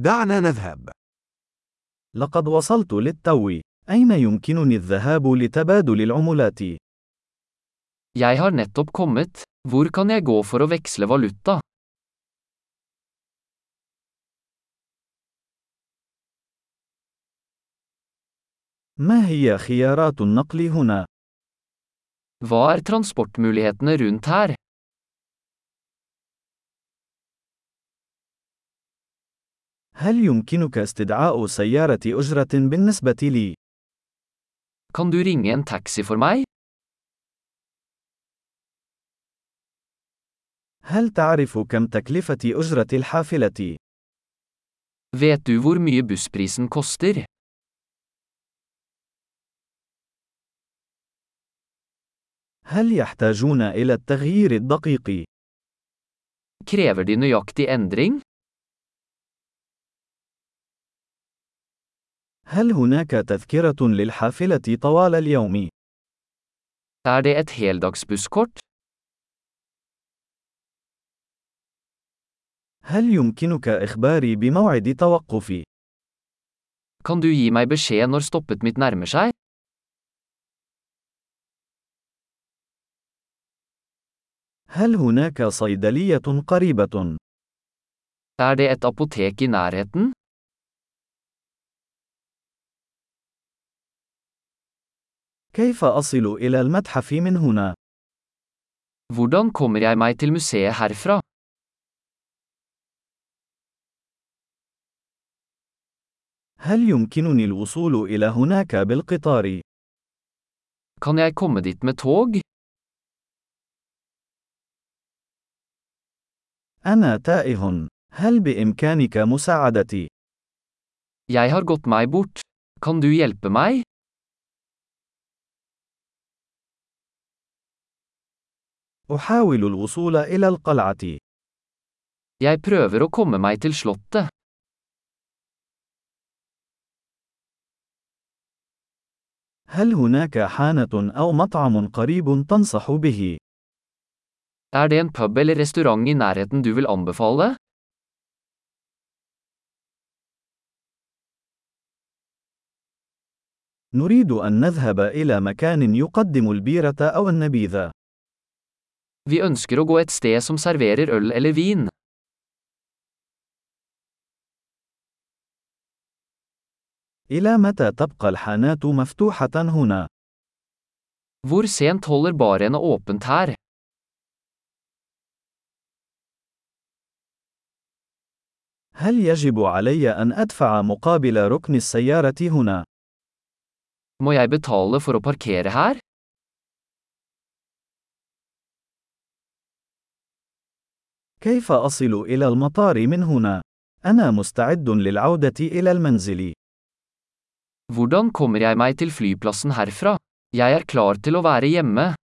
دعنا نذهب. لقد وصلت للتو. أين يمكنني الذهاب لتبادل العملات؟ Jeg har nettopp kommet. Hvor kan jeg gå for å veksle valuta? ما هي خيارات النقل هنا؟ Hva transportmulighetene rundt her? هل يمكنك استدعاء سيارة أجرة بالنسبة لي؟ Kan du ringe en taxi for meg? هل تعرف كم تكلفة أجرة الحافلة؟ Vet du hvor mye bussprisen koster? هل يحتاجون إلى التغيير الدقيق؟ Krever de nøyaktig endring? هل هناك تذكرة للحافلة طوال اليوم؟ Det et heldagsbusskort? هل يمكنك إخباري بموعد توقفي؟ Kan du gi meg beskjed når stoppet mitt nærmer seg? هل هناك صيدلية قريبة؟ Det et apotek i nærheten? كيف أصل إلى المتحف من هنا؟ Hvordan kommer jeg meg til museet herfra? هل يمكنني الوصول إلى هناك بالقطار؟ Kan jeg komme dit med tog? أنا تائه. هل بإمكانك مساعدتي؟ Jeg har gått meg bort. Kan du hjelpe meg? أحاول الوصول إلى القلعة. Jeg prøver å komme meg til slottet. هل هناك حانة أو مطعم قريب تنصح به؟ Det en pub eller restaurant i nærheten du vil anbefale? نريد أن نذهب إلى مكان يقدم البيرة أو النبيذ. Vi ønsker å gå et sted som serverer øl eller vin. إلى متى تبقى الحانات مفتوحة هنا؟ Hvor sent holder barene åpent her? هل يجب علي أن أدفع مقابل ركن السيارة هنا؟ Må jeg betale for å parkere her? كيف أصل إلى المطار من هنا؟ أنا مستعد للعودة إلى المنزل. Hvordan kommer jeg meg til flyplassen herfra? Jeg klar til å være hjemme.